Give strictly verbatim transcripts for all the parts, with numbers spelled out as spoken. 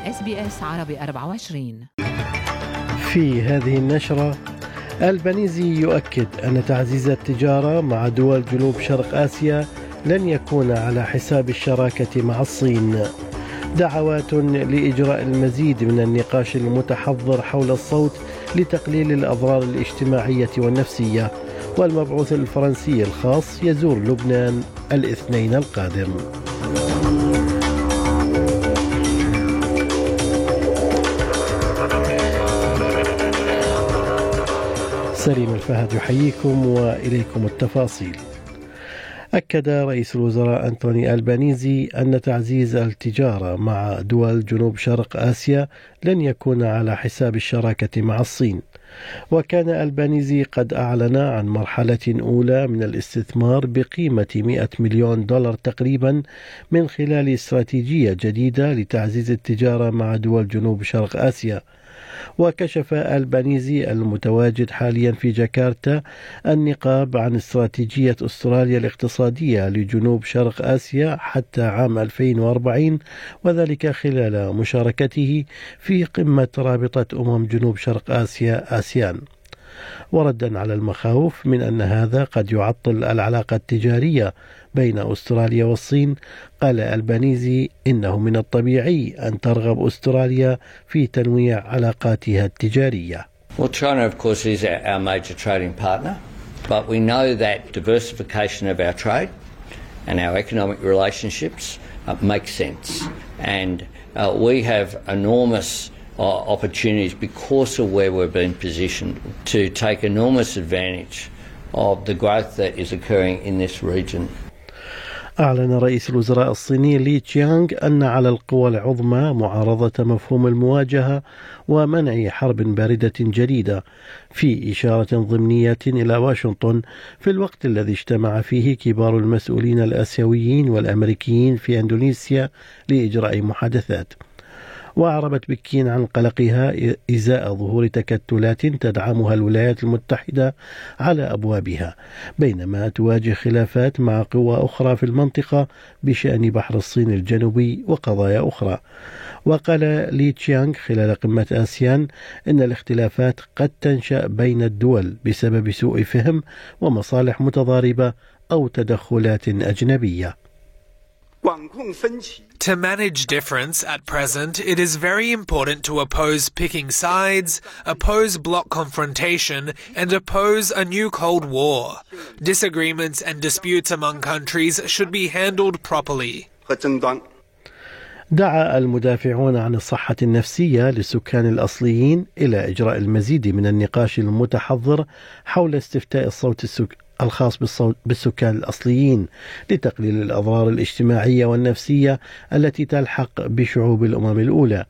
إس بي إس عربي أربعة وعشرين. في هذه النشرة، البنيزي يؤكد أن تعزيز التجارة مع دول جنوب شرق آسيا لن يكون على حساب الشراكة مع الصين. دعوات لإجراء المزيد من النقاش المتحضر حول الصوت لتقليل الأضرار الاجتماعية والنفسية. والمبعوث الفرنسي الخاص يزور لبنان الاثنين القادم. سليم الفهد يحييكم وإليكم التفاصيل. أكد رئيس الوزراء أنتوني ألبانيزي أن تعزيز التجارة مع دول جنوب شرق آسيا لن يكون على حساب الشراكة مع الصين. وكان ألبانيزي قد أعلن عن مرحلة أولى من الاستثمار بقيمة مئة مليون دولار تقريبا من خلال استراتيجية جديدة لتعزيز التجارة مع دول جنوب شرق آسيا. وكشف ألبانيزي المتواجد حاليا في جاكرتا النقاب عن استراتيجية أستراليا الاقتصادية لجنوب شرق آسيا حتى عام ألفين وأربعين، وذلك خلال مشاركته في قمة رابطة أمم جنوب شرق آسيا آسيان. وردا على المخاوف من أن هذا قد يعطل العلاقة التجارية بين أستراليا والصين، قال ألبانيزي إنه من الطبيعي أن ترغب أستراليا في تنويع علاقاتها التجارية. Well, China, of course, is our major trading partner, but we know that diversification of our trade and our economic relationships uh, makes sense. And uh, we have enormous uh, opportunities because of where we've been positioned to take enormous advantage of the growth that is occurring in this region. أعلن رئيس الوزراء الصيني لي تشيانغ أن على القوى العظمى معارضة مفهوم المواجهة ومنع حرب باردة جديدة، في إشارة ضمنية إلى واشنطن في الوقت الذي اجتمع فيه كبار المسؤولين الآسيويين والأمريكيين في إندونيسيا لإجراء محادثات. وأعربت بكين عن قلقها إزاء ظهور تكتلات تدعمها الولايات المتحدة على أبوابها، بينما تواجه خلافات مع قوى أخرى في المنطقة بشأن بحر الصين الجنوبي وقضايا أخرى. وقال لي تشيانغ خلال قمة آسيان إن الاختلافات قد تنشأ بين الدول بسبب سوء فهم ومصالح متضاربة أو تدخلات أجنبية. To manage difference at present, it is very important to oppose picking sides, oppose bloc confrontation, and oppose a new Cold War. Disagreements and disputes among countries should be handled properly. دعا المدافعون عن الصحة النفسية للسكان الأصليين إلى إجراء المزيد من النقاش المتحضر حول استفتاء الصوت السك... الخاص بالصوت بالسكان الأصليين لتقليل الأضرار الاجتماعية والنفسية التي تلحق بشعوب الأمم الأولى.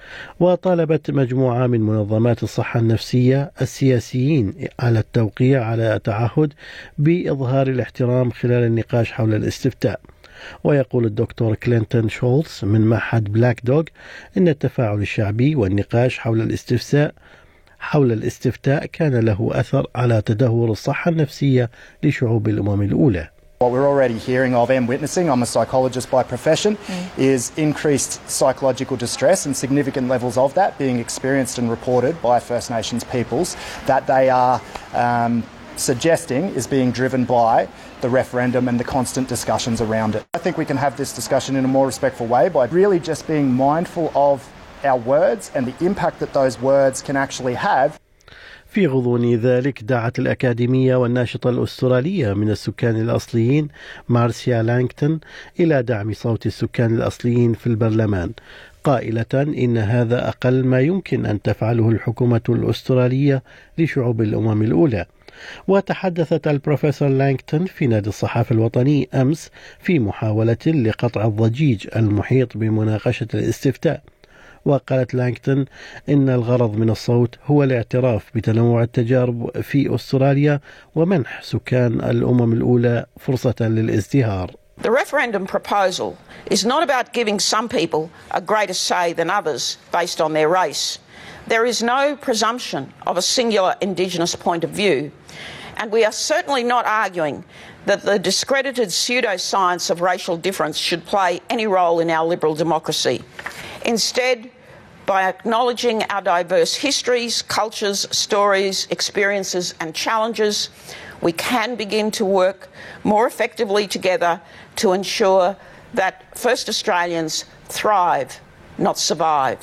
وطالبت مجموعة من منظمات الصحة النفسية السياسيين على التوقيع على تعهد بإظهار الاحترام خلال النقاش حول الاستفتاء. ويقول الدكتور كلينتون شولتز من معهد بلاك دوغ إن التفاعل الشعبي والنقاش حول الاستفساء حول الاستفتاء كان له أثر على تدهور الصحة النفسية لشعوب الأمم الأولى. What we're already hearing of and witnessing, I'm a psychologist by profession, mm. is increased psychological distress and significant levels of that being experienced and reported by First Nations peoples that they are um, suggesting is being driven by the referendum and the constant discussions around it. I think we can have this discussion in a more respectful way by really just being mindful of our words and the impact that those words can actually have. في غضون ذلك دعت الأكاديمية والناشطة الأسترالية من السكان الأصليين مارسيا لانغتون إلى دعم صوت السكان الأصليين في البرلمان، قائلة إن هذا أقل ما يمكن أن تفعله الحكومة الأسترالية لشعوب الأمم الأولى. وتحدثت البروفيسور لانغتون في نادي الصحافة الوطني أمس في محاولة لقطع الضجيج المحيط بمناقشة الاستفتاء. وقالت لانغتون إن الغرض من الصوت هو الاعتراف بتنوع التجارب في أستراليا ومنح سكان الأمم الأولى فرصة للازدهار. The referendum proposal is not about giving some people a greater say than others based on their race. There is no presumption of a singular Indigenous point of view, and we are certainly not arguing that the discredited pseudoscience of racial difference should play any role in our liberal democracy. Instead, By acknowledging our diverse histories, cultures, stories, experiences and challenges, we can begin to work more effectively together to ensure that First Australians thrive, not survive.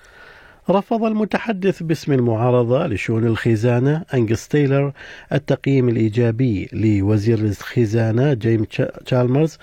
رفض المتحدث باسم المعارضة لشؤون الخزانة أنجس تايلر التقييم الإيجابي لوزير الخزانة جيم تشالمرز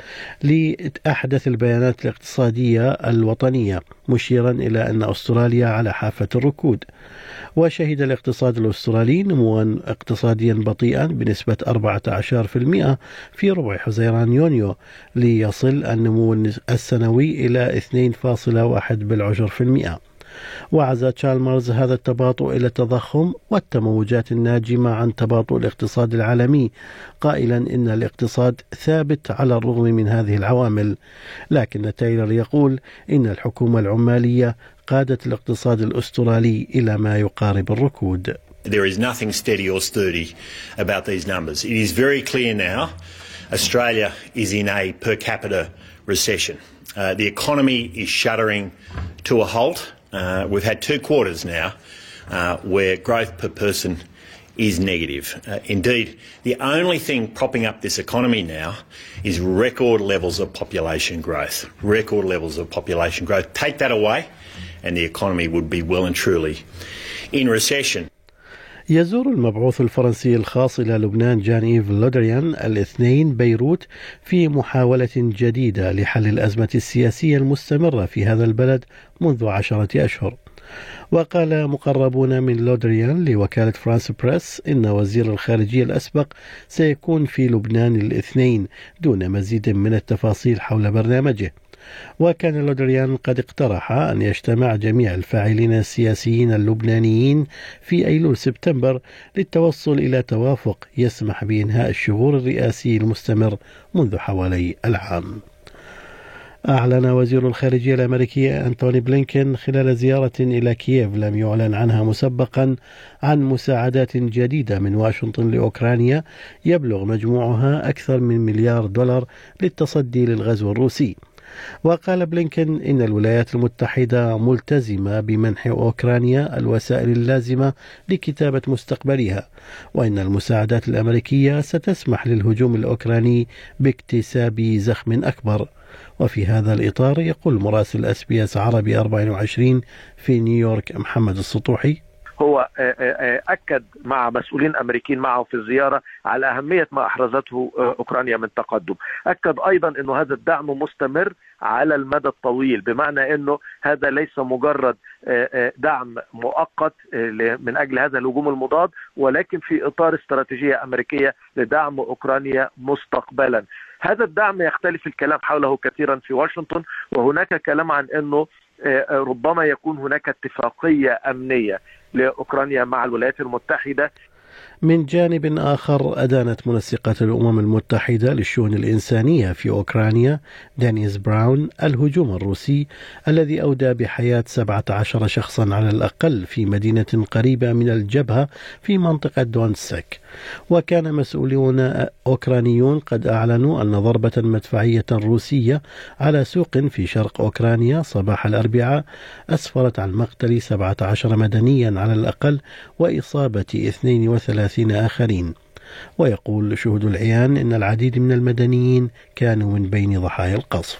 لأحدث البيانات الاقتصادية الوطنية، مشيرا إلى أن أستراليا على حافة الركود. وشهد الاقتصاد الأسترالي نموا اقتصاديا بطيئا بنسبة أربعة عشر بالمئة في ربع حزيران يونيو، ليصل النمو السنوي إلى اثنين فاصلة واحد بالعشر في المئة. وعزى تشالمرز هذا التباطؤ إلى التضخم والتموجات الناجمة عن تباطؤ الاقتصاد العالمي، قائلا إن الاقتصاد ثابت على الرغم من هذه العوامل. لكن تايلر يقول إن الحكومة العمالية قادت الاقتصاد الأسترالي إلى ما يقارب الركود. There is nothing steady or sturdy about these numbers. It is very clear now Australia is in a per capita recession. Uh, the economy is shuddering to a halt. Uh, we've had two quarters now uh, where growth per person is negative. Uh, indeed, the only thing propping up this economy now is record levels of population growth. Record levels of population growth. Take that away and the economy would be well and truly in recession. يزور المبعوث الفرنسي الخاص إلى لبنان جان إيف لودريان الاثنين بيروت في محاولة جديدة لحل الأزمة السياسية المستمرة في هذا البلد منذ عشرة أشهر. وقال مقربون من لودريان لوكالة فرانس بريس إن وزير الخارجية الأسبق سيكون في لبنان الاثنين دون مزيد من التفاصيل حول برنامجه. وكان لودريان قد اقترح أن يجتمع جميع الفاعلين السياسيين اللبنانيين في أيلول سبتمبر للتوصل إلى توافق يسمح بإنهاء الشغور الرئاسي المستمر منذ حوالي العام. أعلن وزير الخارجية الأمريكي أنتوني بلينكين خلال زيارة إلى كييف لم يعلن عنها مسبقا عن مساعدات جديدة من واشنطن لأوكرانيا يبلغ مجموعها أكثر من مليار دولار للتصدي للغزو الروسي. وقال بلينكين إن الولايات المتحدة ملتزمة بمنح أوكرانيا الوسائل اللازمة لكتابة مستقبلها، وإن المساعدات الأمريكية ستسمح للهجوم الأوكراني باكتساب زخم أكبر. وفي هذا الإطار يقول مراسل اس بي اس عربي أربعة وعشرين في نيويورك محمد السطوحي: هو أكد مع مسؤولين أمريكيين معه في الزيارة على أهمية ما أحرزته أوكرانيا من تقدم. أكد أيضا أن هذا الدعم مستمر على المدى الطويل، بمعنى أنه هذا ليس مجرد دعم مؤقت من أجل هذا الهجوم المضاد، ولكن في إطار استراتيجية أمريكية لدعم أوكرانيا مستقبلا. هذا الدعم يختلف الكلام حوله كثيرا في واشنطن، وهناك كلام عن أنه ربما يكون هناك اتفاقية أمنية لأوكرانيا مع الولايات المتحدة. من جانب آخر، أدانت منسقة الأمم المتحدة للشؤون الإنسانية في أوكرانيا دانيس براون الهجوم الروسي الذي أودى بحياة سبعة عشر شخصا على الأقل في مدينة قريبة من الجبهة في منطقة دونتسك. وكان مسؤولون أوكرانيون قد أعلنوا أن ضربة مدفعية روسية على سوق في شرق أوكرانيا صباح الأربعاء أسفرت عن مقتل سبعة عشر مدنيا على الأقل وإصابة اثنين وثلاثين آخرين. ويقول شهود العيان إن العديد من المدنيين كانوا من بين ضحايا القصف.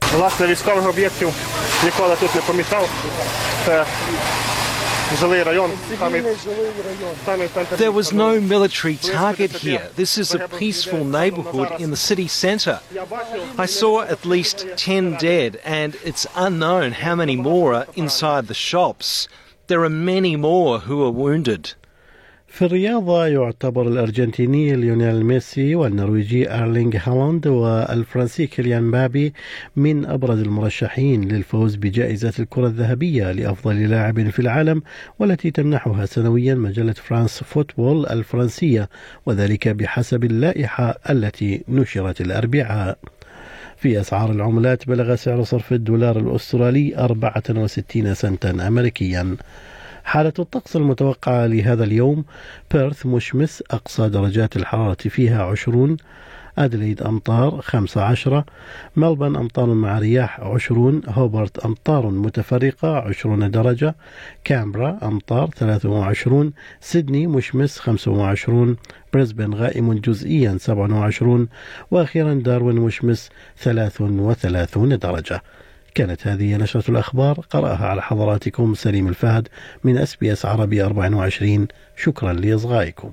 There was no military target here. This is a peaceful neighbourhood in the city centre. I saw at least ten dead, and it's unknown how many more are inside the shops. There are many more who are wounded. في الرياضة، يعتبر الأرجنتيني ليونيل ميسي والنرويجي أرلينغ هالاند والفرنسي كيليان مبابي من أبرز المرشحين للفوز بجائزة الكرة الذهبية لأفضل لاعب في العالم، والتي تمنحها سنويا مجلة فرانس فوتبول الفرنسية، وذلك بحسب اللائحة التي نشرت الأربعاء. في أسعار العملات، بلغ سعر صرف الدولار الأسترالي أربعة وستين سنتا أمريكيا. حالة الطقس المتوقعة لهذا اليوم: بيرث مشمس أقصى درجات الحرارة فيها عشرون، أدليد أمطار خمسة عشر، ملبن أمطار مع رياح عشرون، هوبرت أمطار متفرقة عشرون درجة، كامبرا أمطار ثلاثة وعشرون، سيدني مشمس خمسة وعشرون، بريسبن غائم جزئيا سبعة وعشرون، وأخيرا داروين مشمس ثلاثة وثلاثون درجة. كانت هذه نشرة الأخبار، قرأها على حضراتكم سليم الفهد من أس بي أس عربي أربعة وعشرين. شكرا لإصغائكم.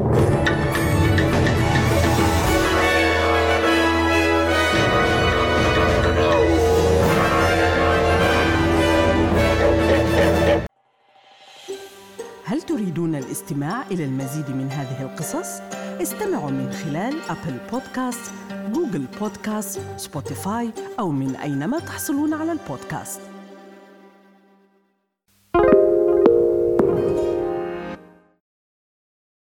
هل تريدون الاستماع إلى المزيد من هذه القصص؟ استمعوا من خلال أبل بودكاست، جوجل بودكاست، سبوتيفاي أو من أينما تحصلون على البودكاست.